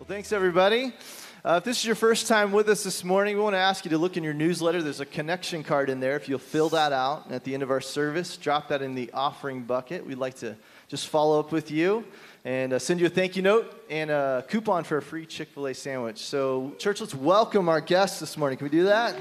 Well, thanks, everybody. If this is your first time with us this morning, we want to ask you to look in your newsletter. There's a connection card in there. If you'll fill that out, and at the end of our service, drop that in the offering bucket. We'd like to just follow up with you and send you a thank you note and a coupon for a free Chick-fil-A sandwich. So, church, let's welcome our guests this morning. Can we do that?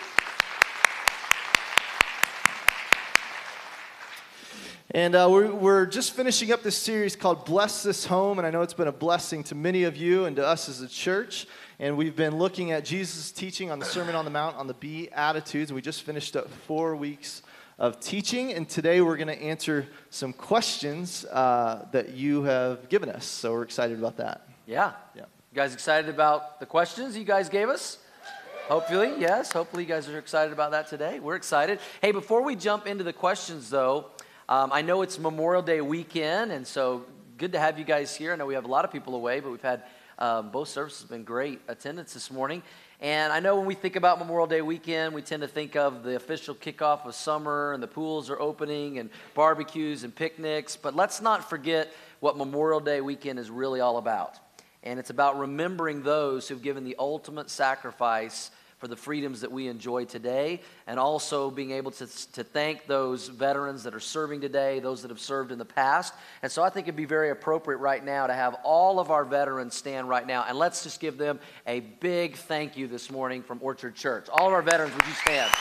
And we're just finishing up this series called Bless This Home, and I know it's been a blessing to many of you and to us as a church. And we've been looking at Jesus' teaching on the Sermon on the Mount on the Beatitudes, and we just finished up 4 weeks of teaching, and today we're going to answer some questions that you have given us, so we're excited about that. Yeah. You guys excited about the questions you guys gave us? Hopefully, yes. Hopefully you guys are excited about that today. We're excited. Hey, before we jump into the questions, though, I know it's Memorial Day weekend, and so good to have you guys here. I know we have a lot of people away, but we've had both services have been great attendance this morning. And I know when we think about Memorial Day weekend, we tend to think of the official kickoff of summer, and the pools are opening, and barbecues and picnics. But let's not forget what Memorial Day weekend is really all about. And it's about remembering those who've given the ultimate sacrifice for the freedoms that we enjoy today, and also being able to thank those veterans that are serving today, those that have served in the past. And so I think it'd be very appropriate right now to have all of our veterans stand right now, and let's just give them a big thank you this morning from Orchard Church. All of our veterans, would you stand?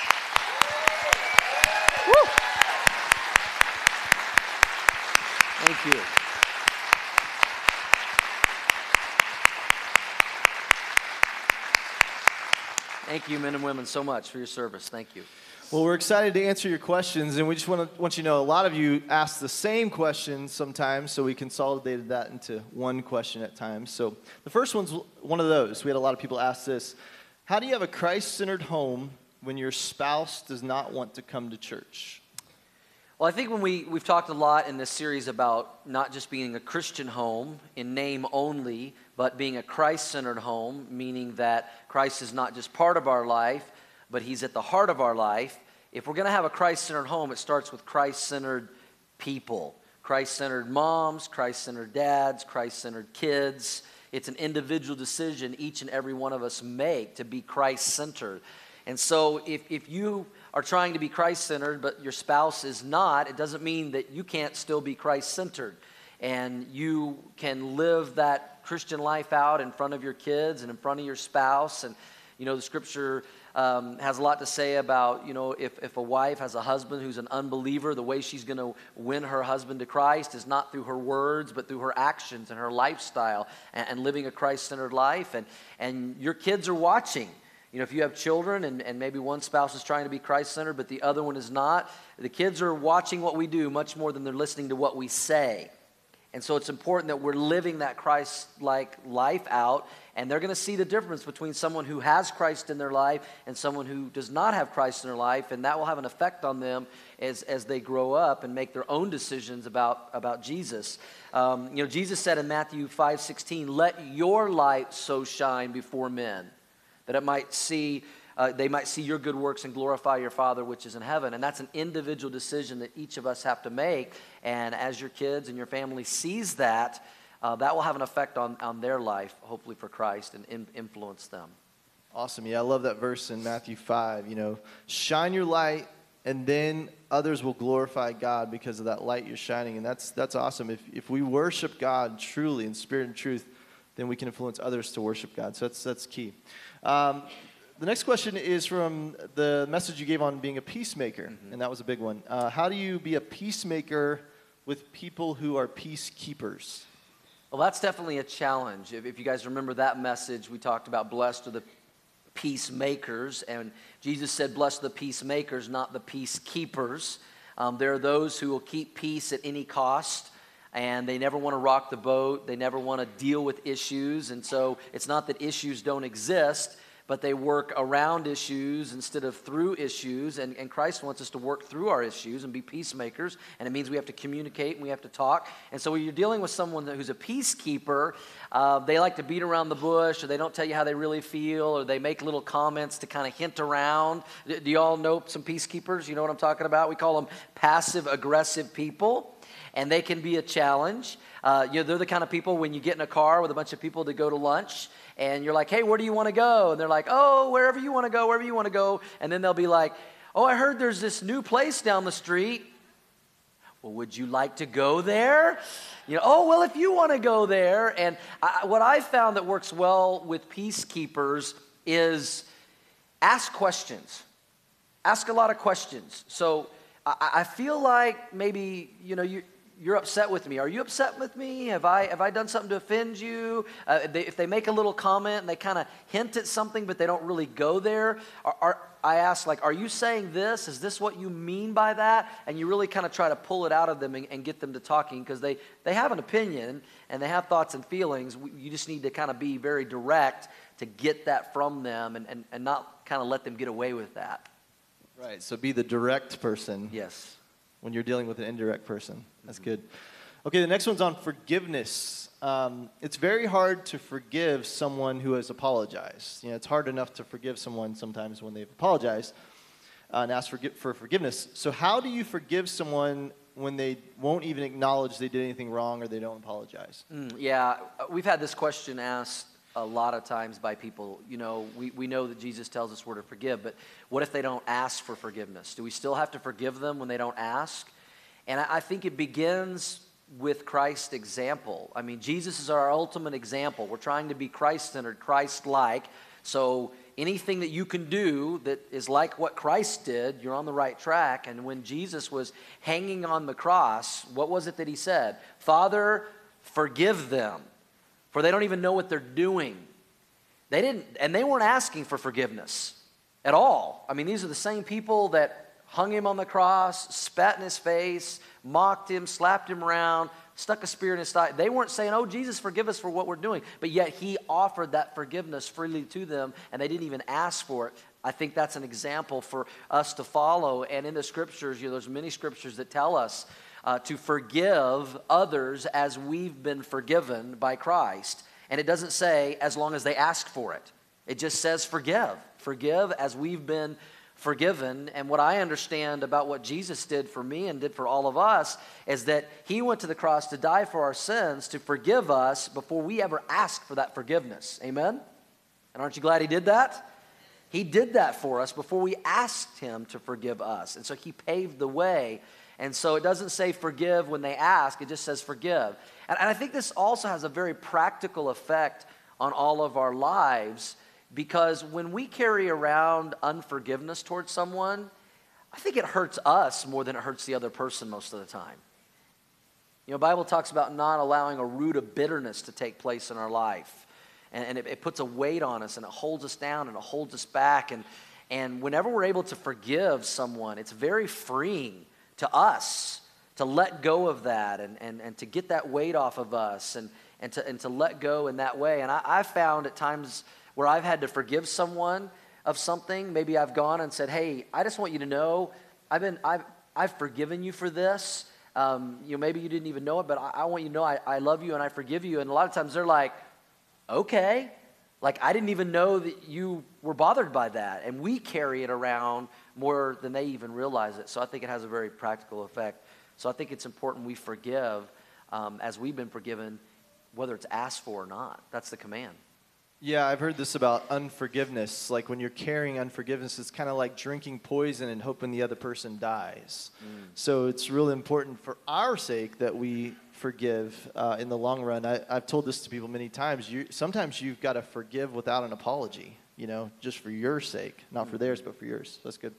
Woo! Thank you. Thank you, men and women, so much for your service. Thank you. Well, we're excited to answer your questions, and we just want you to know a lot of you ask the same question sometimes, so we consolidated that into one question at times. So the first one's one of those. We had a lot of people ask this. How do you have a Christ-centered home when your spouse does not want to come to church? Well, I think when we've talked a lot in this series about not just being a Christian home in name only, but being a Christ-centered home, meaning that Christ is not just part of our life, but He's at the heart of our life. If we're going to have a Christ-centered home, it starts with Christ-centered people. Christ-centered moms, Christ-centered dads, Christ-centered kids. It's an individual decision each and every one of us make to be Christ-centered. And so if you are trying to be Christ-centered, but your spouse is not, it doesn't mean that you can't still be Christ-centered. And you can live that Christian life out in front of your kids and in front of your spouse. And, you know, the scripture has a lot to say about, you know, if a wife has a husband who's an unbeliever, the way she's going to win her husband to Christ is not through her words, but through her actions and her lifestyle and living a Christ-centered life. And your kids are watching. You know, if you have children and maybe one spouse is trying to be Christ-centered, but the other one is not, the kids are watching what we do much more than they're listening to what we say. And so it's important that we're living that Christ-like life out, and they're going to see the difference between someone who has Christ in their life and someone who does not have Christ in their life, and that will have an effect on them as they grow up and make their own decisions about Jesus. You know, Jesus said in Matthew 5:16, "Let your light so shine before men, that they might see your good works and glorify your Father which is in heaven." And that's an individual decision that each of us have to make. And as your kids and your family sees that, that will have an effect on their life, hopefully for Christ, and influence them. Awesome. Yeah, I love that verse in Matthew 5. You know, shine your light, and then others will glorify God because of that light you're shining. And that's awesome. If we worship God truly in spirit and truth, then we can influence others to worship God. So that's key. The next question is from the message you gave on being a peacemaker, and that was a big one. How do you be a peacemaker with people who are peacekeepers? Well, that's definitely a challenge. If you guys remember that message, we talked about blessed are the peacemakers, and Jesus said blessed are the peacemakers, not the peacekeepers. There are those who will keep peace at any cost, and they never want to rock the boat. They never want to deal with issues, and so it's not that issues don't exist, but they work around issues instead of through issues, and Christ wants us to work through our issues and be peacemakers, and it means we have to communicate and we have to talk. And so when you're dealing with someone who's a peacekeeper, they like to beat around the bush, or they don't tell you how they really feel, or they make little comments to kind of hint around. Do you all know some peacekeepers? You know what I'm talking about? We call them passive-aggressive people. and they can be a challenge. They're the kind of people when you get in a car with a bunch of people to go to lunch, and you're like, hey, where do you want to go? And they're like, oh, wherever you want to go, wherever you want to go. And then they'll be like, oh, I heard there's this new place down the street. Well, would you like to go there? Oh, well, if you want to go there. And what I found that works well with peacekeepers is ask questions. Ask a lot of questions. So I feel like maybe, you're upset with me. Are you upset with me? Have I done something to offend you? If they make a little comment and they kind of hint at something, but they don't really go there, I ask, are you saying this? Is this what you mean by that? And you really kind of try to pull it out of them and get them to talking, because they have an opinion and they have thoughts and feelings. You just need to kind of be very direct to get that from them and not kind of let them get away with that. Right, so be the direct person. Yes. When you're dealing with an indirect person. That's good. Okay, the next one's on forgiveness. It's very hard to forgive someone who has apologized. It's hard enough to forgive someone sometimes when they've apologized and asked for forgiveness. So how do you forgive someone when they won't even acknowledge they did anything wrong or they don't apologize? We've had this question asked a lot of times by people. We know that Jesus tells us we're to forgive, but what if they don't ask for forgiveness? Do we still have to forgive them when they don't ask? And I think it begins with Christ's example. I mean, Jesus is our ultimate example. We're trying to be Christ-centered, Christ-like. So anything that you can do that is like what Christ did, you're on the right track. And when Jesus was hanging on the cross, what was it that he said? Father, forgive them, for they don't even know what they're doing. They didn't, and they weren't asking for forgiveness at all. I mean, these are the same people that hung him on the cross, spat in his face, mocked him, slapped him around, stuck a spear in his thigh. They weren't saying, oh, Jesus, forgive us for what we're doing. But yet he offered that forgiveness freely to them, and they didn't even ask for it. I think that's an example for us to follow. And in the scriptures, there's many scriptures that tell us to forgive others as we've been forgiven by Christ. And it doesn't say as long as they ask for it. It just says forgive. Forgive as we've been forgiven. And what I understand about what Jesus did for me and did for all of us is that he went to the cross to die for our sins, to forgive us before we ever asked for that forgiveness. Amen? And aren't you glad he did that? He did that for us before we asked him to forgive us. And so he paved the way. And so it doesn't say forgive when they ask, it just says forgive. And I think this also has a very practical effect on all of our lives, because when we carry around unforgiveness towards someone, I think it hurts us more than it hurts the other person most of the time. The Bible talks about not allowing a root of bitterness to take place in our life. And it puts a weight on us, and it holds us down, and it holds us back. And whenever we're able to forgive someone, it's very freeing to us to let go of that and to get that weight off of us and to let go in that way. And I've found at times where I've had to forgive someone of something, maybe I've gone and said, hey, I just want you to know I've forgiven you for this. Maybe you didn't even know it, but I want you to know I love you and I forgive you. And a lot of times they're like, okay. Like, I didn't even know that you were bothered by that. And we carry it around more than they even realize it. So I think it has a very practical effect. So I think it's important we forgive as we've been forgiven, whether it's asked for or not. That's the command. Yeah, I've heard this about unforgiveness. Like when you're carrying unforgiveness, it's kind of like drinking poison and hoping the other person dies. So it's really important for our sake that we forgive in the long run. I've told this to people many times. Sometimes you've got to forgive without an apology, just for your sake. Not for theirs, but for yours. That's good.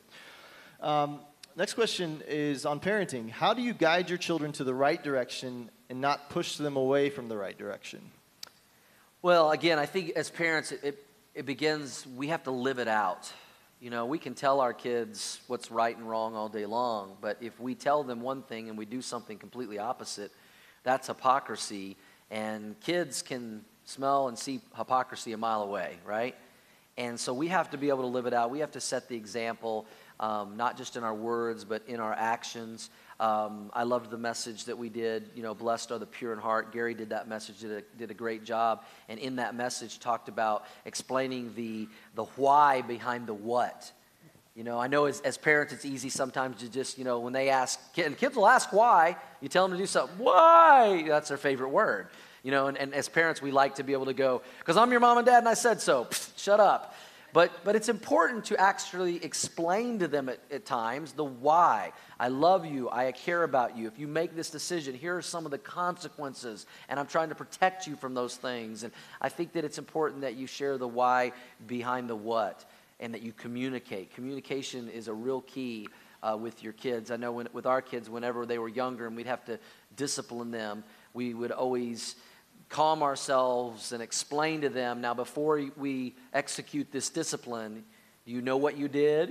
Next question is on parenting. How do you guide your children to the right direction and not push them away from the right direction? Well, again, I think as parents, it begins, we have to live it out. We can tell our kids what's right and wrong all day long, but if we tell them one thing and we do something completely opposite, that's hypocrisy, and kids can smell and see hypocrisy a mile away, right? And so we have to be able to live it out. We have to set the example, not just in our words, but in our actions. I loved the message that we did, blessed are the pure in heart. Gary did that message, did a great job. And in that message talked about explaining the why behind the what. You know, I know as parents, it's easy sometimes to just, when they ask, and kids will ask why, you tell them to do something. Why? That's their favorite word. And as parents, we like to be able to go, because I'm your mom and dad and I said so. Pfft, shut up. But it's important to actually explain to them at times the why. I love you. I care about you. If you make this decision, here are some of the consequences, and I'm trying to protect you from those things. And I think that it's important that you share the why behind the what, and that you communicate. Communication is a real key with your kids. I know with our kids, whenever they were younger and we'd have to discipline them, we would always calm ourselves and explain to them, now before we execute this discipline, you know what you did?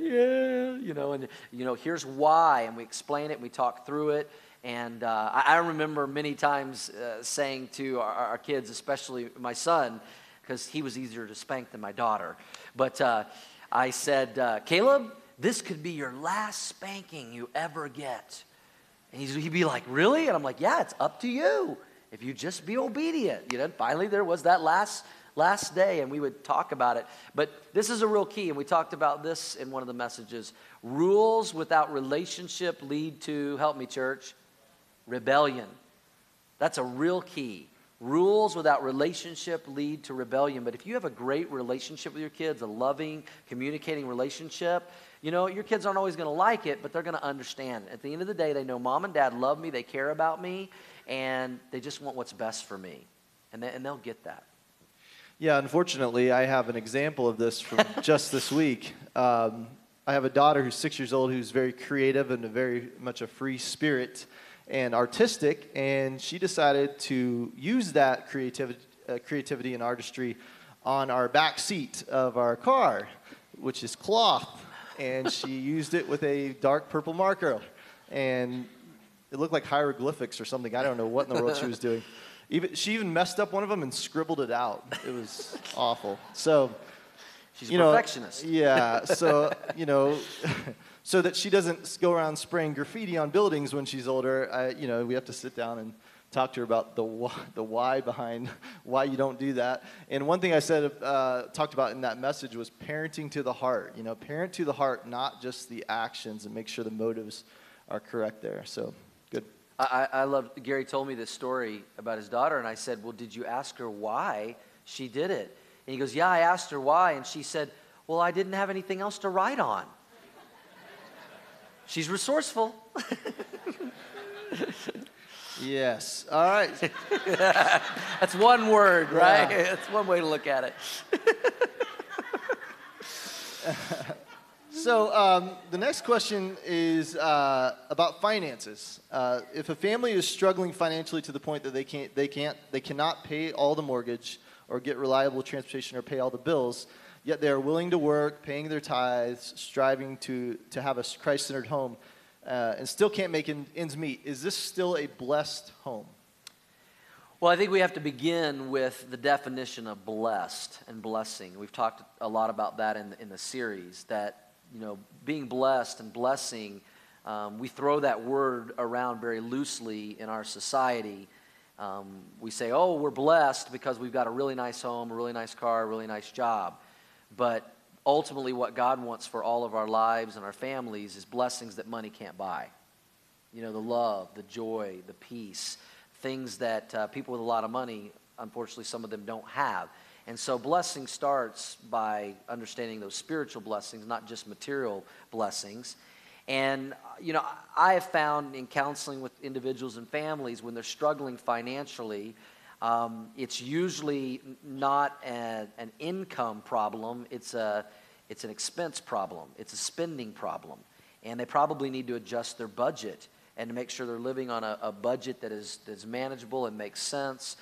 Yeah, here's why. And we explain it, and we talk through it. And I remember many times saying to our kids, especially my son, because he was easier to spank than my daughter, but I said, Caleb, this could be your last spanking you ever get. And he'd be like, really? And I'm like, yeah, it's up to you. If you just be obedient. Finally there was that last day, and we would talk about it. But this is a real key, and we talked about this in one of the messages. Rules without relationship lead to, help me church, rebellion. That's a real key. Rules without relationship lead to rebellion. But if you have a great relationship with your kids, a loving, communicating relationship, your kids aren't always going to like it, but they're going to understand. At the end of the day, they know mom and dad love me, they care about me, and they just want what's best for me. And they'll get that. Yeah, unfortunately, I have an example of this from just this week. I have a daughter who's 6 years old who's very creative and very much a free spirit and artistic, and she decided to use that creativity and artistry on our back seat of our car, which is cloth, and she used it with a dark purple marker, and it looked like hieroglyphics or something. I don't know what in the world she was doing. She even messed up one of them and scribbled it out. It was awful. So, she's a perfectionist. Yeah. So, so that she doesn't go around spraying graffiti on buildings when she's older, we have to sit down and talk to her about the why behind why you don't do that. And one thing I talked about in that message was parenting to the heart. Parent to the heart, not just the actions, and make sure the motives are correct there. So, good. I love, Gary told me this story about his daughter, and I said, well, did you ask her why she did it? And he goes, yeah, I asked her why, and she said, well, I didn't have anything else to write on. She's resourceful. Yes. All right. That's one word, right? Yeah. That's one way to look at it. So the next question is about finances. If a family is struggling financially to the point that they cannot pay all the mortgage or get reliable transportation or pay all the bills, yet they are willing to work, paying their tithes, striving to have a Christ-centered home, and still can't make ends meet, is this still a blessed home? Well, I think we have to begin with the definition of blessed and blessing. We've talked a lot about that in the series, that being blessed and blessing, we throw that word around very loosely in our society. We say, oh, we're blessed because we've got a really nice home, a really nice car, a really nice job. But ultimately what God wants for all of our lives and our families is blessings that money can't buy. The love, the joy, the peace, things that people with a lot of money, unfortunately, some of them don't have. And so blessing starts by understanding those spiritual blessings, not just material blessings. And, I have found in counseling with individuals and families when they're struggling financially, it's usually not an income problem. It's an expense problem. It's a spending problem. And they probably need to adjust their budget and to make sure they're living on a budget that's manageable and makes sense.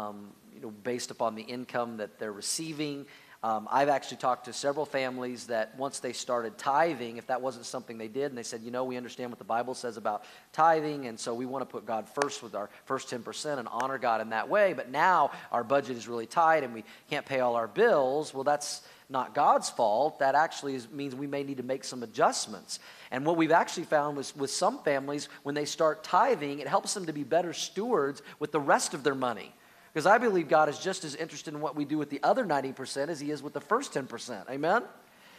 Based upon the income that they're receiving. I've actually talked to several families that once they started tithing, if that wasn't something they did, and they said, we understand what the Bible says about tithing, and so we want to put God first with our first 10% and honor God in that way, but now our budget is really tight and we can't pay all our bills. Well, that's not God's fault. That actually means we may need to make some adjustments. And what we've actually found with some families, when they start tithing, it helps them to be better stewards with the rest of their money. Because I believe God is just as interested in what we do with the other 90% as he is with the first 10%. Amen?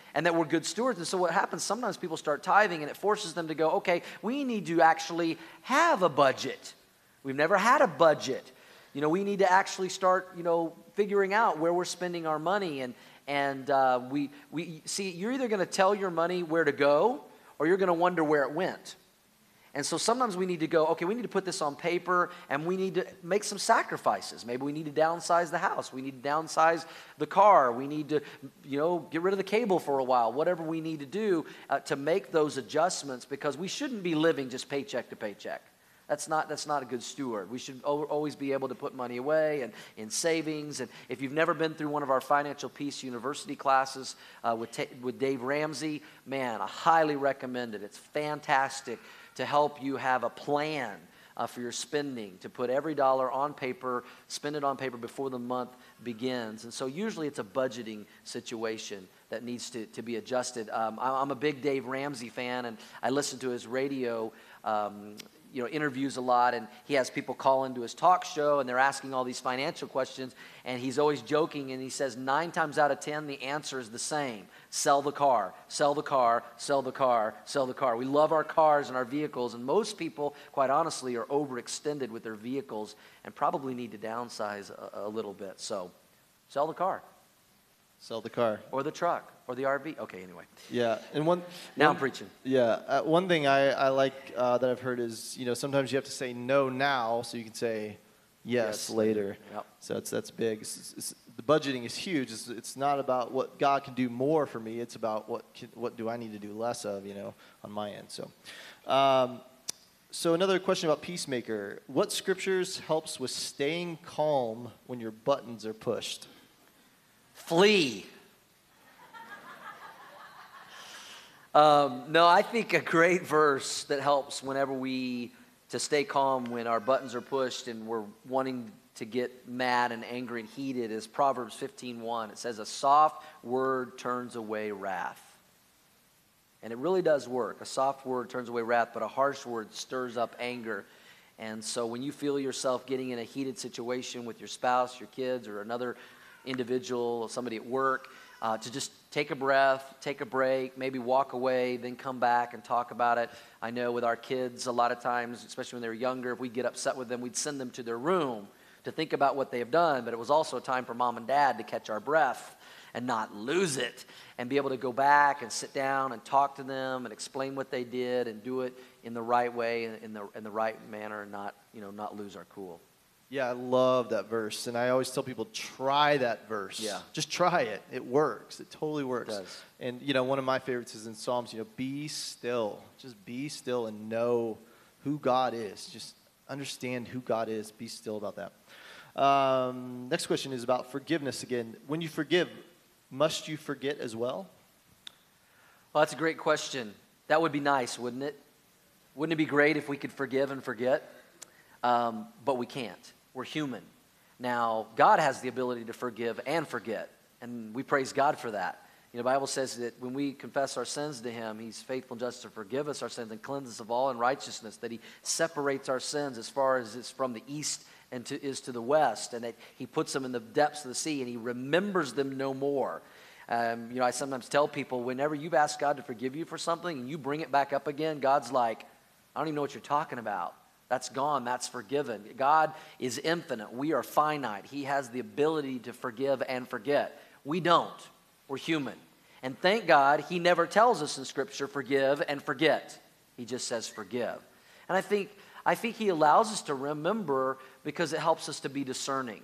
and that we're good stewards. And so what happens, sometimes people start tithing and it forces them to go, okay, we need to actually have a budget. We've never had a budget. We need to actually start, figuring out where we're spending our money. And we see, you're either going to tell your money where to go or you're going to wonder where it went. And so sometimes we need to go, okay, we need to put this on paper and we need to make some sacrifices. Maybe we need to downsize the house. We need to downsize the car. We need to, get rid of the cable for a while. Whatever we need to do to make those adjustments, because we shouldn't be living just paycheck to paycheck. That's not a good steward. We should always be able to put money away and in savings. And if you've never been through one of our Financial Peace University classes with Dave Ramsey, man, I highly recommend it. It's fantastic to help you have a plan for your spending, to put every dollar on paper, spend it on paper before the month begins. And so usually it's a budgeting situation that needs to be adjusted. I'm a big Dave Ramsey fan, and I listen to his radio interviews a lot, and he has people call into his talk show, and they're asking all these financial questions, and he's always joking, and he says 9 times out of 10, the answer is the same. Sell the car, sell the car, sell the car, sell the car. We love our cars and our vehicles, and most people, quite honestly, are overextended with their vehicles and probably need to downsize a little bit. So sell the car. Sell the car. Or the truck, or the RV. Okay, anyway. Yeah, and Now I'm preaching. Yeah, one thing I like that I've heard is, sometimes you have to say no now so you can say yes later. Yep. So that's big. The budgeting is huge. It's not about what God can do more for me. It's about what do I need to do less of, on my end. So another question about Peacemaker. What scriptures helps with staying calm when your buttons are pushed? Flee. No, I think a great verse that helps whenever to stay calm when our buttons are pushed and we're wanting to get mad and angry and heated is Proverbs 15:1. It says, a soft word turns away wrath. And it really does work. A soft word turns away wrath, but a harsh word stirs up anger. And so when you feel yourself getting in a heated situation with your spouse, your kids, or another individual, somebody at work, to just take a breath, take a break, maybe walk away, then come back and talk about it. I know with our kids, a lot of times, especially when they were younger, if we'd get upset with them, we'd send them to their room to think about what they have done. But it was also a time for mom and dad to catch our breath and not lose it and be able to go back and sit down and talk to them and explain what they did and do it in the right way, in the right manner, and not lose our cool. Yeah, I love that verse, and I always tell people, try that verse. Yeah. Just try it. It works. It totally works. It does. And, one of my favorites is in Psalms, be still. Just be still and know who God is. Just understand who God is. Be still about that. Next question is about forgiveness again. When you forgive, must you forget as well? Well, that's a great question. That would be nice, wouldn't it? Wouldn't it be great if we could forgive and forget? But we can't. We're human. Now, God has the ability to forgive and forget, and we praise God for that. The Bible says that when we confess our sins to Him, He's faithful and just to forgive us our sins and cleanse us of all unrighteousness, that He separates our sins as far as it's from the east and is to the west, and that He puts them in the depths of the sea, and He remembers them no more. I sometimes tell people, whenever you've asked God to forgive you for something and you bring it back up again, God's like, I don't even know what you're talking about. That's gone. That's forgiven. God is infinite. We are finite. He has the ability to forgive and forget. We don't. We're human. And thank God He never tells us in Scripture, forgive and forget. He just says forgive. And I think He allows us to remember because it helps us to be discerning.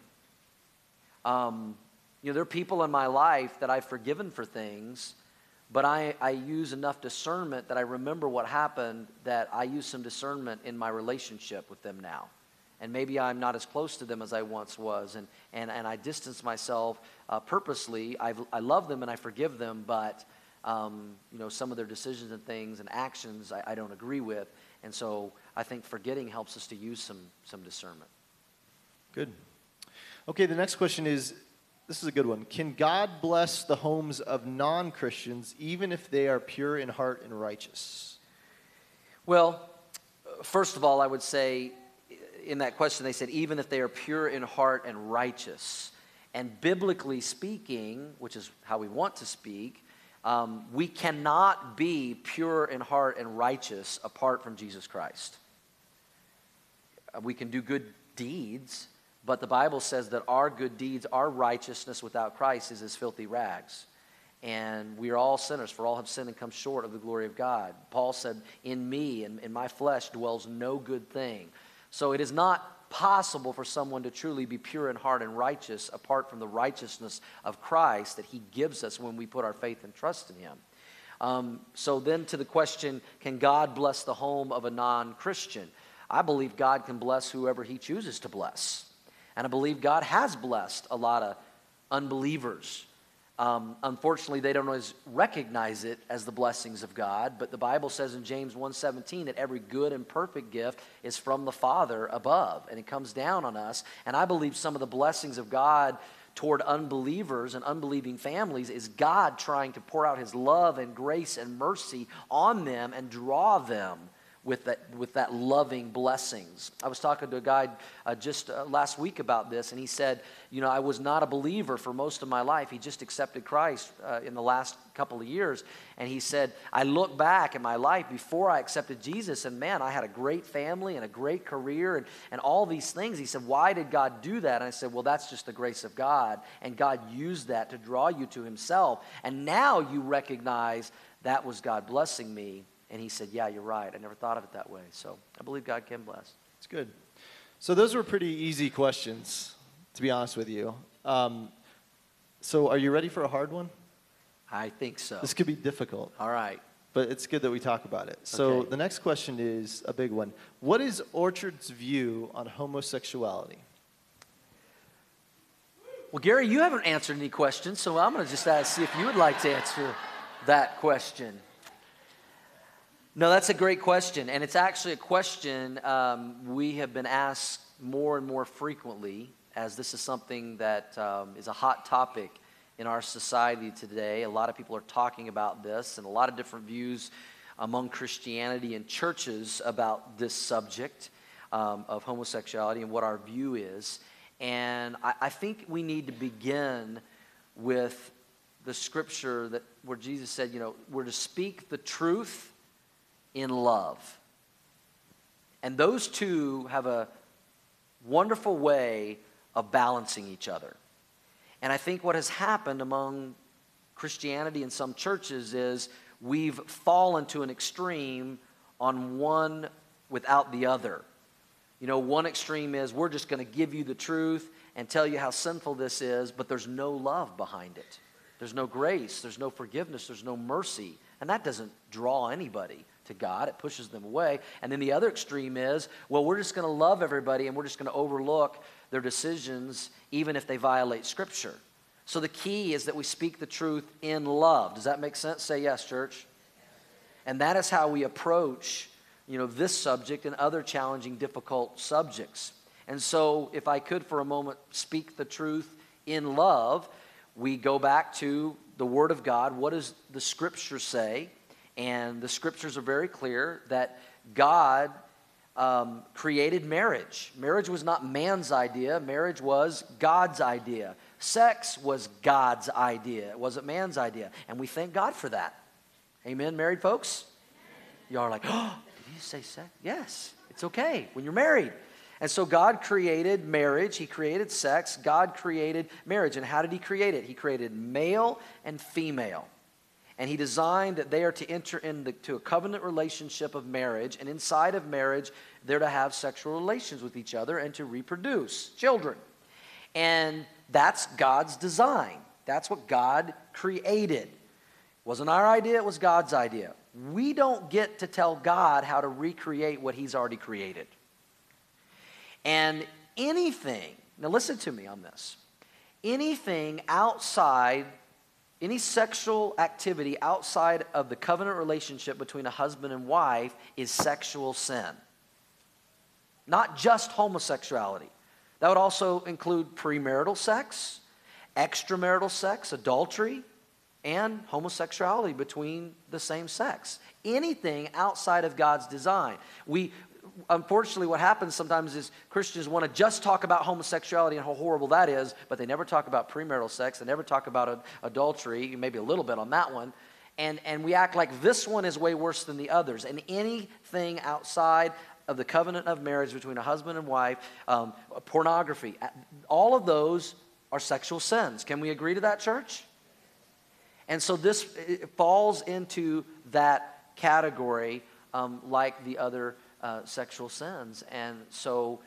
There are people in my life that I've forgiven for things, but I use enough discernment that I remember what happened, that I use some discernment in my relationship with them now. And maybe I'm not as close to them as I once was, and I distance myself purposely. I love them and I forgive them, but some of their decisions and things and actions I don't agree with. And so I think forgetting helps us to use some discernment. Good. Okay, the next question is, this is a good one. Can God bless the homes of non-Christians even if they are pure in heart and righteous? Well, first of all, I would say in that question they said even if they are pure in heart and righteous. And biblically speaking, which is how we want to speak, We cannot be pure in heart and righteous apart from Jesus Christ. We can do good deeds, but the Bible says that our good deeds, our righteousness without Christ is as filthy rags. And we are all sinners, for all have sinned and come short of the glory of God. Paul said, in me and in my flesh dwells no good thing. So it is not possible for someone to truly be pure in heart and righteous apart from the righteousness of Christ that he gives us when we put our faith and trust in him. So then to the question, can God bless the home of a non-Christian? I believe God can bless whoever he chooses to bless. And I believe God has blessed a lot of unbelievers. Unfortunately, they don't always recognize it as the blessings of God, but the Bible says in James 1:17 that every good and perfect gift is from the Father above, and it comes down on us. And I believe some of the blessings of God toward unbelievers and unbelieving families is God trying to pour out his love and grace and mercy on them and draw them with that loving blessings. I was talking to a guy just last week about this, and he said, I was not a believer for most of my life. He just accepted Christ in the last couple of years, and he said, I look back at my life before I accepted Jesus, and man, I had a great family and a great career and all these things. He said, why did God do that? And I said, well, that's just the grace of God, and God used that to draw you to himself, and now you recognize that was God blessing me. And he said, yeah, you're right. I never thought of it that way. So I believe God can bless. It's good. So those were pretty easy questions, to be honest with you. So are you ready for a hard one? I think so. This could be difficult. All right. But it's good that we talk about it. So Okay. The next question is a big one. What is Orchard's view on homosexuality? Well, Gary, you haven't answered any questions, so I'm going to just see if you would like to answer that question. No, that's a great question, and it's actually a question we have been asked more and more frequently, as this is something that is a hot topic in our society today. A lot of people are talking about this, and a lot of different views among Christianity and churches about this subject of homosexuality and what our view is. And I think we need to begin with the scripture where Jesus said, we're to speak the truth in love. And those two have a wonderful way of balancing each other. And I think what has happened among Christianity and some churches is we've fallen to an extreme on one without the other. One extreme is we're just going to give you the truth and tell you how sinful this is, but there's no love behind it. There's no grace, there's no forgiveness, there's no mercy. And that doesn't draw anybody to God. It pushes them away. And then the other extreme is, well, we're just going to love everybody and we're just going to overlook their decisions even if they violate Scripture. So the key is that we speak the truth in love. Does that make sense? Say yes, church. And that is how we approach, this subject and other challenging, difficult subjects. And so if I could for a moment speak the truth in love, we go back to the Word of God. What does the Scripture say? And the Scriptures are very clear that God created marriage. Marriage was not man's idea. Marriage was God's idea. Sex was God's idea. It wasn't man's idea. And we thank God for that. Amen, married folks? You are like, oh, did you say sex? Yes, it's okay when you're married. And so God created marriage. He created sex. God created marriage. And how did he create it? He created male and female. And he designed that they are to enter into a covenant relationship of marriage. And inside of marriage, they're to have sexual relations with each other and to reproduce children. And that's God's design. That's what God created. It wasn't our idea, it was God's idea. We don't get to tell God how to recreate what he's already created. And anything, now listen to me on this, anything outside, any sexual activity outside of the covenant relationship between a husband and wife is sexual sin. Not just homosexuality. That would also include premarital sex, extramarital sex, adultery, and homosexuality between the same sex. Anything outside of God's design. Unfortunately, what happens sometimes is Christians want to just talk about homosexuality and how horrible that is, but they never talk about premarital sex. They never talk about adultery, maybe a little bit on that one. And we act like this one is way worse than the others. And anything outside of the covenant of marriage between a husband and wife, pornography, all of those are sexual sins. Can we agree to that, church? And so this falls into that category like the other sexual sins. And so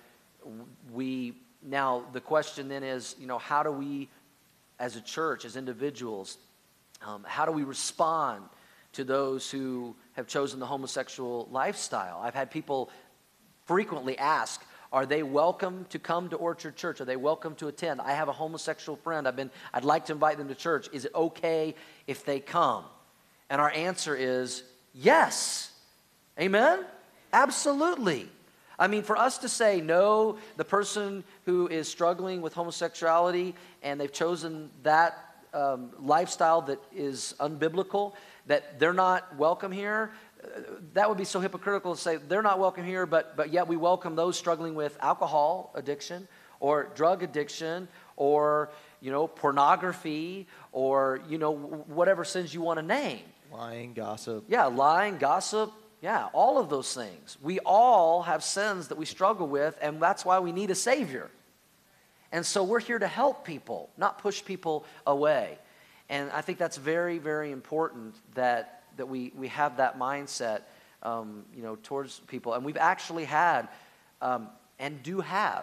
now the question then is, how do we as a church, as individuals, how do we respond to those who have chosen the homosexual lifestyle? I've had people frequently ask, are they welcome to come to Orchard Church? Are they welcome to attend? I have a homosexual friend. I'd like to invite them to church. Is it okay if they come? And our answer is yes. Amen? Absolutely. I mean, for us to say, no, the person who is struggling with homosexuality and they've chosen that lifestyle that is unbiblical, that they're not welcome here, that would be so hypocritical to say they're not welcome here, but yet we welcome those struggling with alcohol addiction or drug addiction or, pornography or, whatever sins you want to name. Lying, gossip. Yeah, lying, gossip. Yeah, all of those things. We all have sins that we struggle with, and that's why we need a Savior. And so we're here to help people, not push people away. And I think that's very, very important that we have that mindset, towards people. And we've actually had, and do have,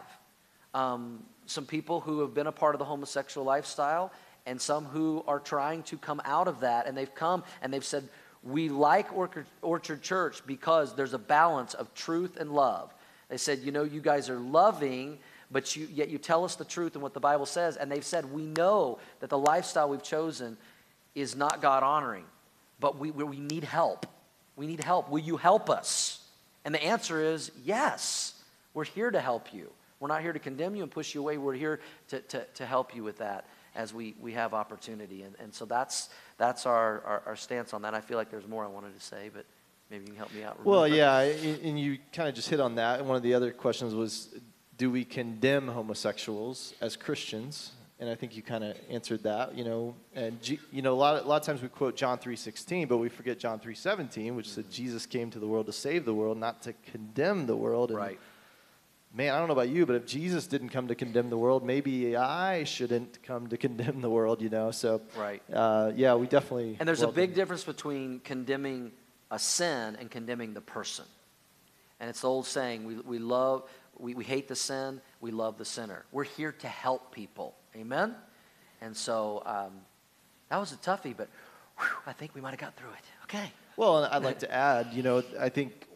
some people who have been a part of the homosexual lifestyle, and some who are trying to come out of that. And they've come and they've said, we like Orchard Church because there's a balance of truth and love. They said, you guys are loving, but yet you tell us the truth and what the Bible says. And they've said, we know that the lifestyle we've chosen is not God-honoring, but we need help. We need help. Will you help us? And the answer is yes. We're here to help you. We're not here to condemn you and push you away. We're here to help you with that as we have opportunity. And so that's our stance on that. I feel like there's more I wanted to say, but maybe you can help me out. Remember. Well, yeah, and you kind of just hit on that. And one of the other questions was, do we condemn homosexuals as Christians? And I think you kind of answered that, And a lot of times we quote John 3:16, but we forget John 3:17, which said Jesus came to the world to save the world, not to condemn the world. And right. Man, I don't know about you, but if Jesus didn't come to condemn the world, maybe I shouldn't come to condemn the world, So, right. Yeah, we definitely. And there's a big difference between condemning a sin and condemning the person. And it's the old saying, we hate the sin, we love the sinner. We're here to help people. Amen? And so that was a toughie, but I think we might have got through it. Okay. Well, and I'd like to add, I think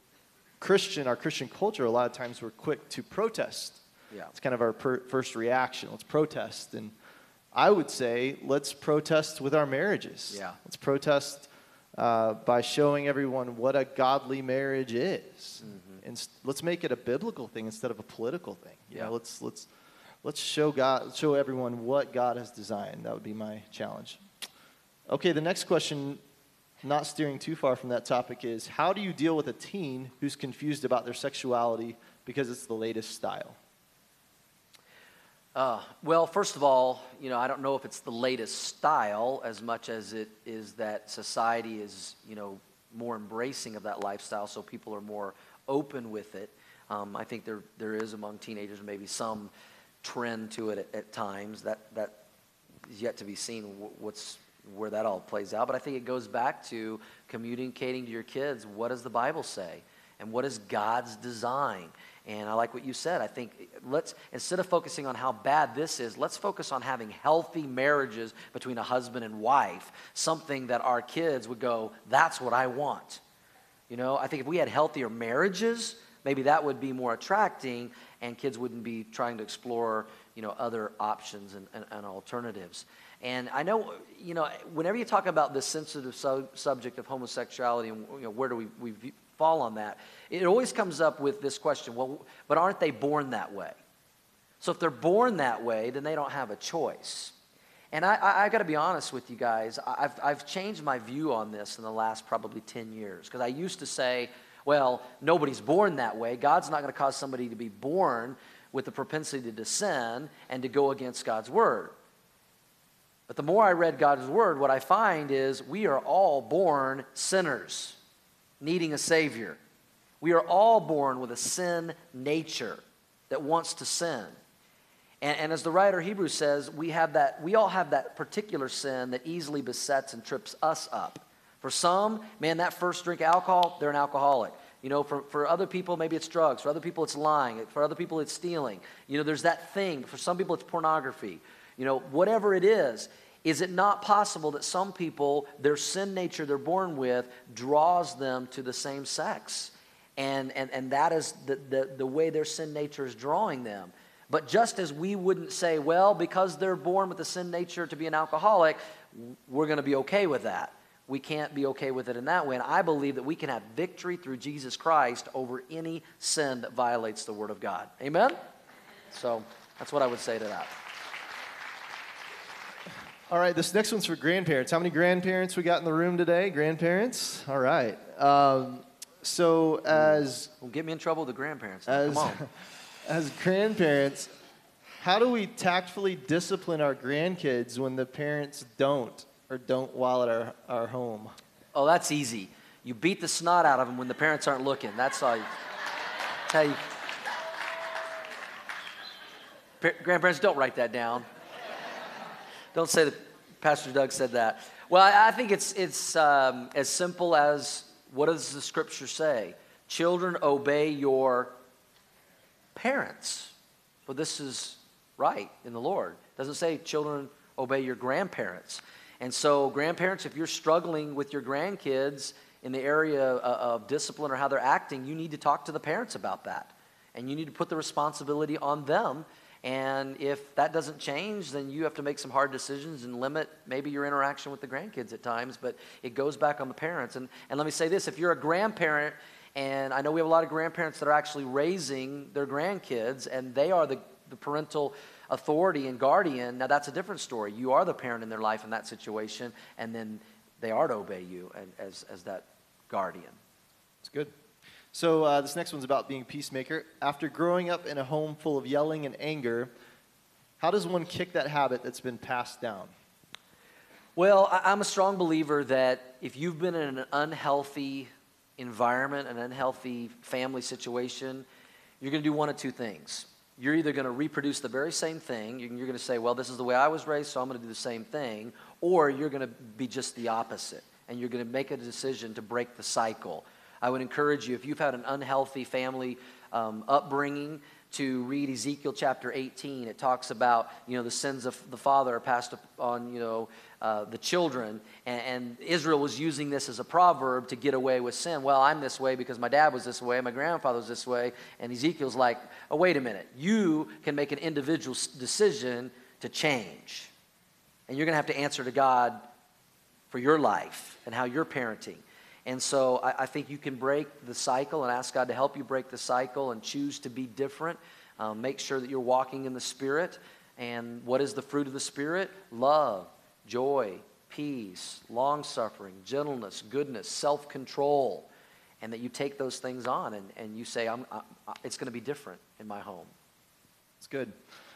our Christian culture, a lot of times we're quick to protest. Yeah. It's kind of our first reaction. Let's protest. And I would say, let's protest with our marriages. Yeah. Let's protest by showing everyone what a godly marriage is. Mm-hmm. And let's make it a biblical thing instead of a political thing. Yeah. Let's show everyone what God has designed. That would be my challenge. Okay, the next question, not steering too far from that topic, is how do you deal with a teen who's confused about their sexuality because it's the latest style? Well, first of all, I don't know if it's the latest style as much as it is that society is, more embracing of that lifestyle, so people are more open with it. I think there is among teenagers maybe some trend to it at times. That is yet to be seen where that all plays out. But I think it goes back to communicating to your kids, what does the Bible say? And what is God's design? And I like what you said. I think instead of focusing on how bad this is, let's focus on having healthy marriages between a husband and wife, something that our kids would go, that's what I want. I think if we had healthier marriages, maybe that would be more attracting, and kids wouldn't be trying to explore, other options and alternatives. And I know, whenever you talk about this sensitive subject of homosexuality and, where do we fall on that, it always comes up with this question, well, but aren't they born that way? So if they're born that way, then they don't have a choice. And I got to be honest with you guys, I've changed my view on this in the last probably 10 years. Because I used to say, well, nobody's born that way. God's not going to cause somebody to be born with the propensity to sin and to go against God's word. But the more I read God's word, what I find is we are all born sinners, needing a Savior. We are all born with a sin nature that wants to sin. And as the writer of Hebrews says, we all have that particular sin that easily besets and trips us up. For some, man, that first drink of alcohol, they're an alcoholic. For other people, maybe it's drugs. For other people, it's lying. For other people, it's stealing. There's that thing. For some people, it's pornography. Whatever it is it not possible that some people, their sin nature they're born with draws them to the same sex? And that is the way their sin nature is drawing them. But just as we wouldn't say, well, because they're born with the sin nature to be an alcoholic, we're going to be okay with that. We can't be okay with it in that way. And I believe that we can have victory through Jesus Christ over any sin that violates the Word of God. Amen? So that's what I would say to that. All right, this next one's for grandparents. How many grandparents we got in the room today? Grandparents? All right. Don't get me in trouble with the grandparents. Come on. As grandparents, how do we tactfully discipline our grandkids when the parents don't while at our home? Oh, that's easy. You beat the snot out of them when the parents aren't looking. That's all. Grandparents, don't write that down. Don't say that Pastor Doug said that. Well, I think it's as simple as, what does the Scripture say? Children, obey your parents, for this is right in the Lord. It doesn't say children, obey your grandparents. And so grandparents, if you're struggling with your grandkids in the area of discipline or how they're acting, you need to talk to the parents about that. And you need to put the responsibility on them. And if that doesn't change, then you have to make some hard decisions and limit maybe your interaction with the grandkids at times. But it goes back on the parents. And let me say this, if you're a grandparent, and I know we have a lot of grandparents that are actually raising their grandkids, and they are the parental authority and guardian, now that's a different story. You are the parent in their life in that situation, and then they are to obey you as that guardian. It's good. So this next one's about being a peacemaker. After growing up in a home full of yelling and anger, how does one kick that habit that's been passed down? Well, I'm a strong believer that if you've been in an unhealthy environment, an unhealthy family situation, you're going to do one of two things. You're either going to reproduce the very same thing, you're going to say, well, this is the way I was raised, so I'm going to do the same thing, or you're going to be just the opposite, and you're going to make a decision to break the cycle. I would encourage you, if you've had an unhealthy family upbringing, to read Ezekiel chapter 18. It talks about, the sins of the father are passed on, the children. And Israel was using this as a proverb to get away with sin. Well, I'm this way because my dad was this way, my grandfather was this way. And Ezekiel's like, oh, wait a minute. You can make an individual decision to change. And you're going to have to answer to God for your life and how you're parenting. And so I think you can break the cycle and ask God to help you break the cycle and choose to be different. Make sure that you're walking in the Spirit. And what is the fruit of the Spirit? Love, joy, peace, long-suffering, gentleness, goodness, self-control. And that you take those things on and you say, it's going to be different in my home. It's good.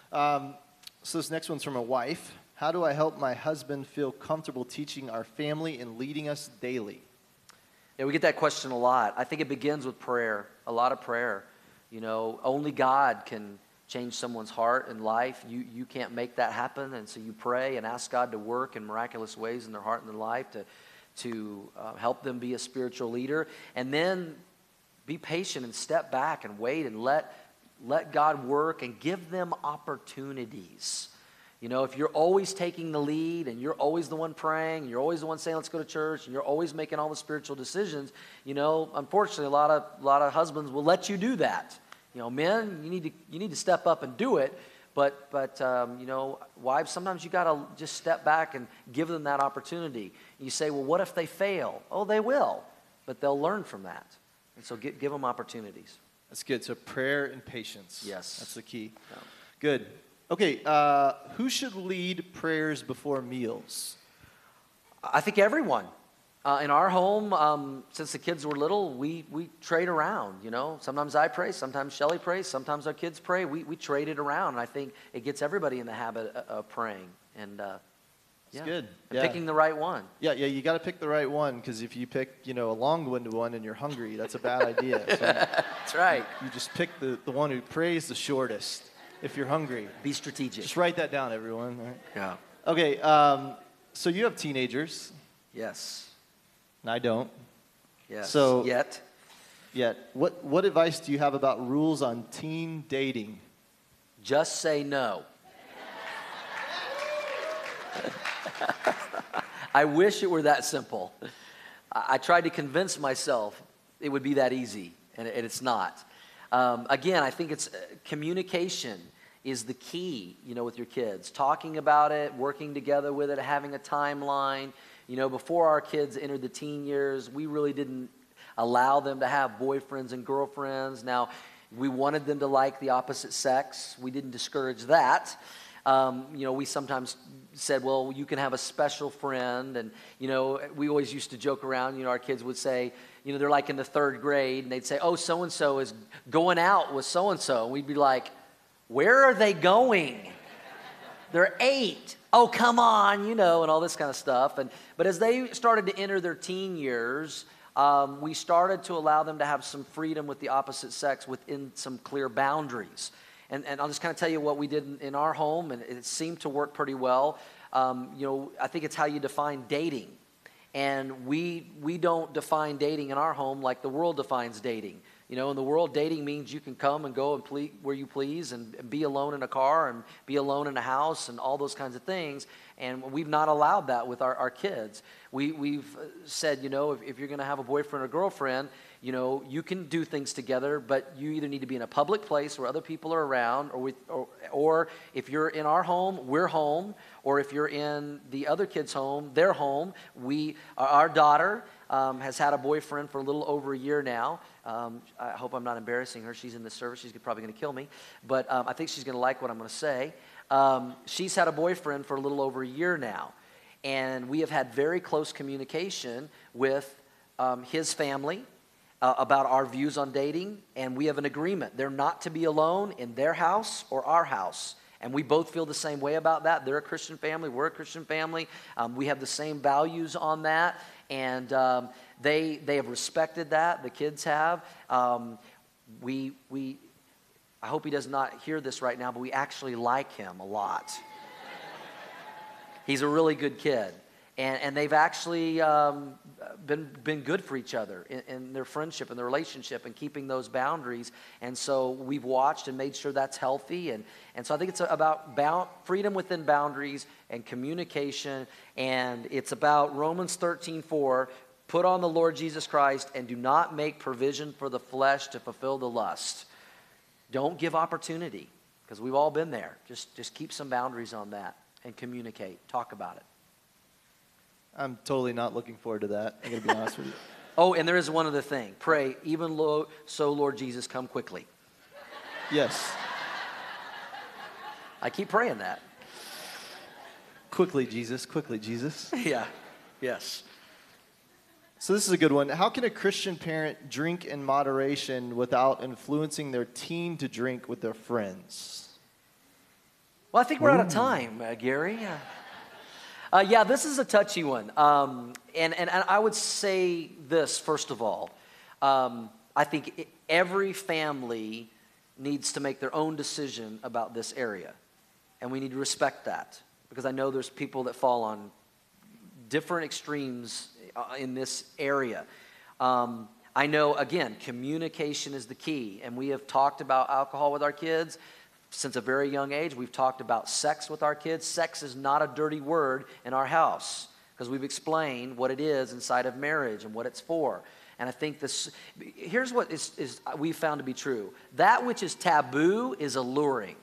So this next one's from a wife. How do I help my husband feel comfortable teaching our family and leading us daily? Yeah, we get that question a lot. I think it begins with prayer, a lot of prayer. Only God can change someone's heart and life. You can't make that happen, and so you pray and ask God to work in miraculous ways in their heart and their life to help them be a spiritual leader. And then be patient and step back and wait and let God work and give them opportunities. If you're always taking the lead and you're always the one praying, and you're always the one saying, let's go to church, and you're always making all the spiritual decisions, unfortunately, a lot of husbands will let you do that. Men, you need to step up and do it, but wives, sometimes you got to just step back and give them that opportunity. You say, well, what if they fail? Oh, they will, but they'll learn from that. And so give them opportunities. That's good. So prayer and patience. Yes. That's the key. Yeah. Good. Okay, who should lead prayers before meals? I think everyone. In our home, since the kids were little, we trade around, Sometimes I pray, sometimes Shelly prays, sometimes our kids pray. We trade it around, and I think it gets everybody in the habit of praying. And It's good. And picking the right one. Yeah, you got to pick the right one, because if you pick, a long-winded one and you're hungry, that's a bad idea. So That's right. you just pick the one who prays the shortest if you're hungry. Be strategic. Just write that down, everyone. All right? Yeah. Okay, so you have teenagers, Yes. and I don't. Yes. So- Yet. Yet, what advice do you have about rules on teen dating? Just say no. I wish it were that simple. I tried to convince myself it would be that easy, and it's not. Again, I think it's communication is the key, with your kids. Talking about it, working together with it, having a timeline. Before our kids entered the teen years, we really didn't allow them to have boyfriends and girlfriends. Now, we wanted them to like the opposite sex. We didn't discourage that. We sometimes said, well, you can have a special friend. And, we always used to joke around, our kids would say, they're like in the 3rd grade, and they'd say, oh, so-and-so is going out with so-and-so. And we'd be like, where are they going? They're 8. Oh, come on, and all this kind of stuff. But as they started to enter their teen years, we started to allow them to have some freedom with the opposite sex within some clear boundaries. And I'll just kind of tell you what we did in our home, and it seemed to work pretty well. I think it's how you define dating. And we don't define dating in our home like the world defines dating. In the world, dating means you can come and go and where you please and be alone in a car and be alone in a house and all those kinds of things. And we've not allowed that with our kids. We've said, if you're going to have a boyfriend or girlfriend, you can do things together, but you either need to be in a public place where other people are around, or if you're in our home, we're home, or if you're in the other kid's home, they're home. Our daughter has had a boyfriend for a little over a year now. I hope I'm not embarrassing her. She's in this service. She's probably going to kill me. But I think she's going to like what I'm going to say. She's had a boyfriend for a little over a year now. And we have had very close communication with his family about our views on dating. And we have an agreement. They're not to be alone in their house or our house. And we both feel the same way about that. They're a Christian family. We're a Christian family. We have the same values on that. And they have respected that. The kids have. I hope he does not hear this right now, but we actually like him a lot. He's a really good kid. And they've actually been good for each other in their friendship and their relationship and keeping those boundaries. And so we've watched and made sure that's healthy. And so I think it's about freedom within boundaries and communication. And it's about Romans 13:4, put on the Lord Jesus Christ and do not make provision for the flesh to fulfill the lust. Don't give opportunity, because we've all been there. Just keep some boundaries on that and communicate. Talk about it. I'm totally not looking forward to that. I'm going to be honest with you. Oh, and there is one other thing. Pray, even so, Lord Jesus, come quickly. Yes. I keep praying that. Quickly, Jesus. Quickly, Jesus. Yeah. Yes. So this is a good one. How can a Christian parent drink in moderation without influencing their teen to drink with their friends? Well, I think we're out of time, Gary. Yeah, this is a touchy one. And I would say this, first of all. I think every family needs to make their own decision about this area. And we need to respect that, because I know there's people that fall on different extremes in this area. I know, again, communication is the key. And we have talked about alcohol with our kids since a very young age. We've talked about sex with our kids. Sex is not a dirty word in our house, because we've explained what it is inside of marriage and what it's for. And I think here's what we've found to be true. That which is taboo is alluring.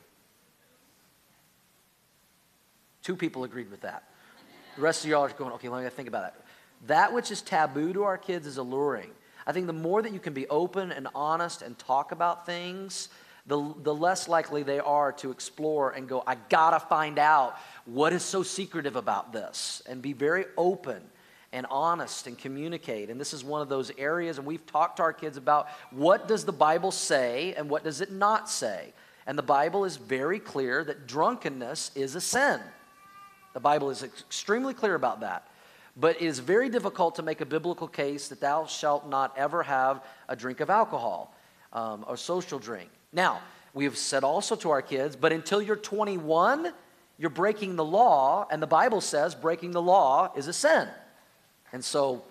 2 people agreed with that. The rest of y'all are going, okay, let me think about that. That which is taboo to our kids is alluring. I think the more that you can be open and honest and talk about things, the less likely they are to explore and go, I gotta find out what is so secretive about this, and be very open and honest and communicate. And this is one of those areas, and we've talked to our kids about what does the Bible say and what does it not say. And the Bible is very clear that drunkenness is a sin. The Bible is extremely clear about that. But it is very difficult to make a biblical case that thou shalt not ever have a drink of alcohol, or social drink. Now, we have said also to our kids, but until you're 21, you're breaking the law, and the Bible says breaking the law is a sin. And so,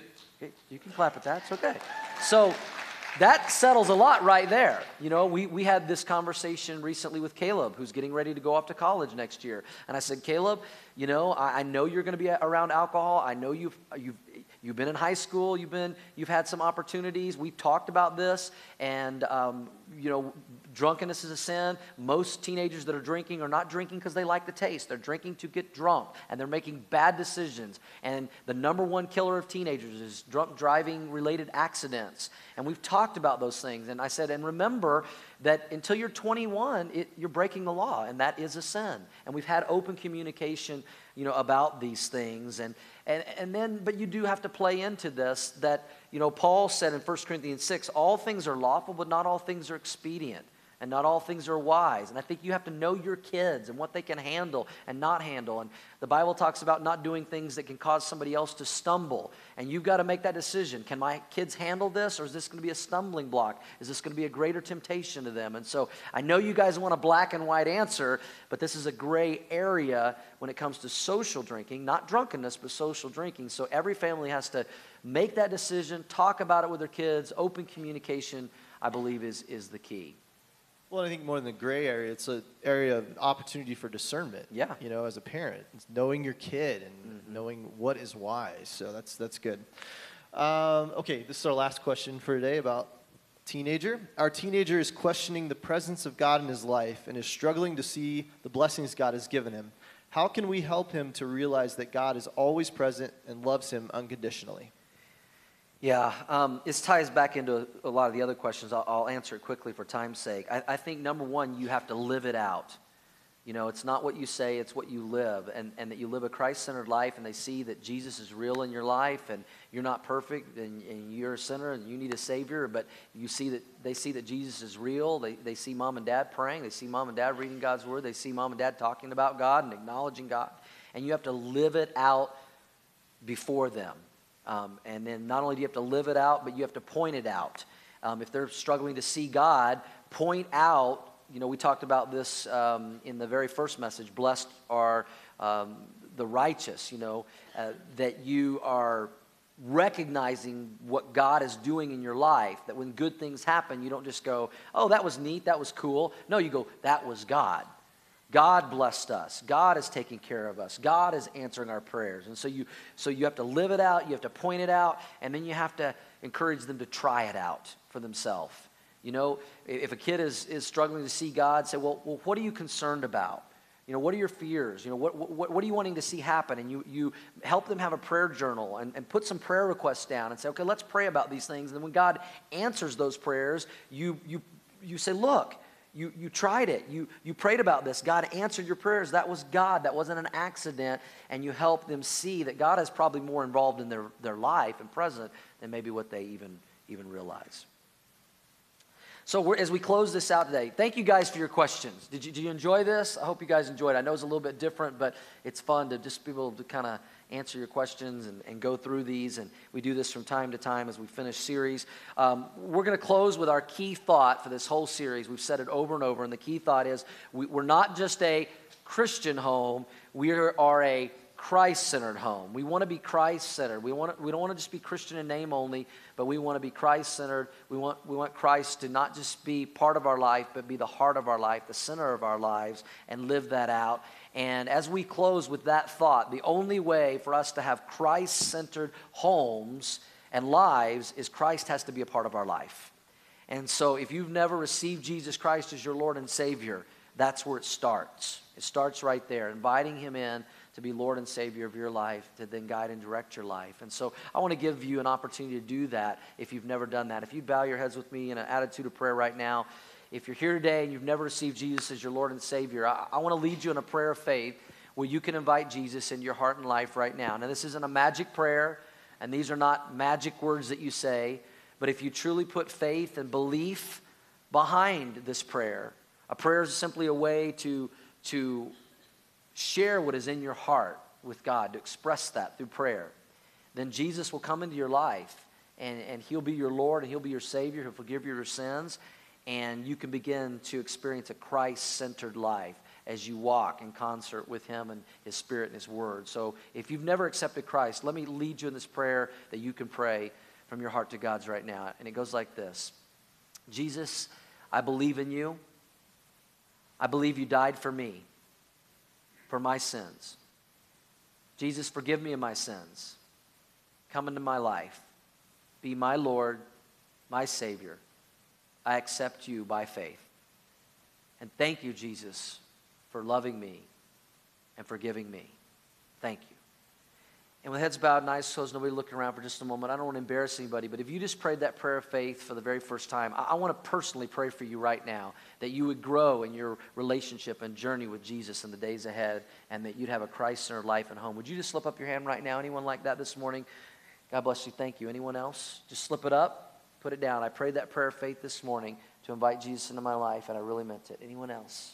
you can clap at that, it's okay. So, that settles a lot right there. You know, we had this conversation recently with Caleb, who's getting ready to go off to college next year. And I said, Caleb, you know, I know you're going to be around alcohol. I know you've been in high school. You've had some opportunities. We've talked about this. And, you know, drunkenness is a sin. Most teenagers that are drinking are not drinking because they like the taste. They're drinking to get drunk. And they're making bad decisions. And the number one killer of teenagers is drunk driving related accidents. And we've talked about those things. And I said, and remember that until you're 21, you're breaking the law. And that is a sin. And we've had open communication, you know, about these things. And then, but you do have to play into this that, you know, Paul said in 1 Corinthians 6, all things are lawful, but not all things are expedient. And not all things are wise. And I think you have to know your kids and what they can handle and not handle. And the Bible talks about not doing things that can cause somebody else to stumble. And you've got to make that decision. Can my kids handle this, or is this going to be a stumbling block? Is this going to be a greater temptation to them? And so I know you guys want a black and white answer, but this is a gray area when it comes to social drinking. Not drunkenness, but social drinking. So every family has to make that decision, talk about it with their kids. Open communication, I believe, is the key. Well, I think more than the gray area, it's an area of opportunity for discernment. Yeah. You know, as a parent, it's knowing your kid and knowing what is wise. So that's good. Okay, this is our last question for today about teenager. Our teenager is questioning the presence of God in his life and is struggling to see the blessings God has given him. How can we help him to realize that God is always present and loves him unconditionally? Yeah, this ties back into a lot of the other questions. I'll answer it quickly for time's sake. I think, number one, you have to live it out. You know, it's not what you say, it's what you live. And that you live a Christ-centered life, and they see that Jesus is real in your life, and you're not perfect, and you're a sinner, and you need a Savior, but they see that Jesus is real. They see mom and dad praying. They see mom and dad reading God's Word. They see mom and dad talking about God and acknowledging God. And you have to live it out before them. And then not only do you have to live it out, but you have to point it out. If they're struggling to see God, point out, you know, we talked about this in the very first message, blessed are the righteous, you know, that you are recognizing what God is doing in your life, that when good things happen, you don't just go, oh, that was neat, that was cool. No, you go, that was God. God blessed us. God is taking care of us. God is answering our prayers. And so you have to live it out, you have to point it out, and then you have to encourage them to try it out for themselves. You know, if a kid is struggling to see God, say, well, what are you concerned about? You know, what are your fears? You know, what are you wanting to see happen? And you help them have a prayer journal and put some prayer requests down and say, okay, let's pray about these things. And then when God answers those prayers, you say, look, you tried it. You prayed about this. God answered your prayers. That was God. That wasn't an accident. And you help them see that God is probably more involved in their life and present than maybe what they even realize. So as we close this out today, thank you guys for your questions. Did you enjoy this? I hope you guys enjoyed it. I know it's a little bit different, but it's fun to just be able to kind of answer your questions and go through these. And we do this from time to time as we finish series. We're going to close with our key thought for this whole series. We've said it over and over, and the key thought is we're not just a Christian home. We are a Christ-centered home. We want to be Christ-centered. We don't want to just be Christian in name only, but we want to be Christ-centered. We want Christ to not just be part of our life, but be the heart of our life, the center of our lives, and live that out. And as we close with that thought, the only way for us to have Christ-centered homes and lives is Christ has to be a part of our life. And so if you've never received Jesus Christ as your Lord and Savior, that's where it starts. It starts right there, inviting Him in to be Lord and Savior of your life, to then guide and direct your life. And so I want to give you an opportunity to do that if you've never done that. If you bow your heads with me in an attitude of prayer right now, if you're here today and you've never received Jesus as your Lord and Savior, I want to lead you in a prayer of faith where you can invite Jesus into your heart and life right now. Now, this isn't a magic prayer, and these are not magic words that you say, but if you truly put faith and belief behind this prayer, a prayer is simply a way to share what is in your heart with God, to express that through prayer, then Jesus will come into your life, and he'll be your Lord, and he'll be your Savior. He'll forgive your sins, and you can begin to experience a Christ-centered life as you walk in concert with him and his Spirit and his Word. So if you've never accepted Christ, let me lead you in this prayer that you can pray from your heart to God's right now. And it goes like this. Jesus, I believe in you. I believe you died for me, for my sins. Jesus, forgive me of my sins. Come into my life. Be my Lord, my Savior. I accept you by faith. And thank you, Jesus, for loving me and forgiving me. Thank you. And with heads bowed and eyes closed, nobody looking around for just a moment, I don't want to embarrass anybody, but if you just prayed that prayer of faith for the very first time, I want to personally pray for you right now, that you would grow in your relationship and journey with Jesus in the days ahead, and that you'd have a Christ-centered life and home. Would you just slip up your hand right now? Anyone like that this morning? God bless you. Thank you. Anyone else? Just slip it up, put it down. I prayed that prayer of faith this morning to invite Jesus into my life, and I really meant it. Anyone else?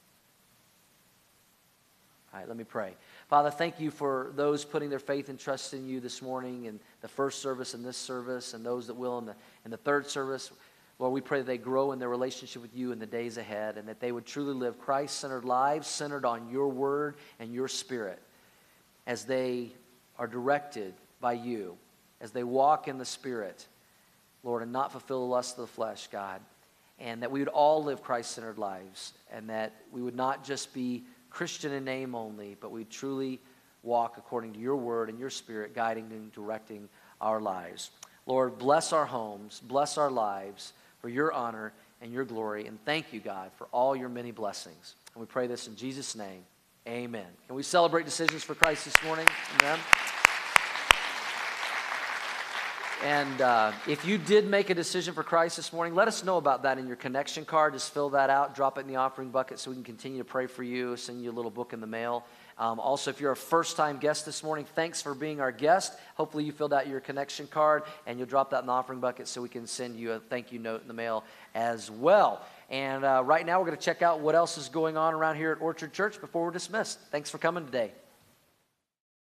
All right, let me pray. Father, thank you for those putting their faith and trust in you this morning in the first service and this service, and those that will in the third service. Lord, we pray that they grow in their relationship with you in the days ahead, and that they would truly live Christ-centered lives centered on your word and your Spirit as they are directed by you, as they walk in the Spirit, Lord, and not fulfill the lust of the flesh, God, and that we would all live Christ-centered lives, and that we would not just be Christian in name only, but we truly walk according to your word and your Spirit, guiding and directing our lives. Lord, bless our homes, bless our lives for your honor and your glory, and thank you, God, for all your many blessings. And we pray this in Jesus' name. Amen. Can we celebrate decisions for Christ this morning? Amen. And if you did make a decision for Christ this morning, let us know about that in your connection card. Just fill that out, drop it in the offering bucket so we can continue to pray for you, send you a little book in the mail. Also, if you're a first-time guest this morning, thanks for being our guest. Hopefully you filled out your connection card, and you'll drop that in the offering bucket so we can send you a thank you note in the mail as well. And right now we're going to check out what else is going on around here at Orchard Church before we're dismissed. Thanks for coming today.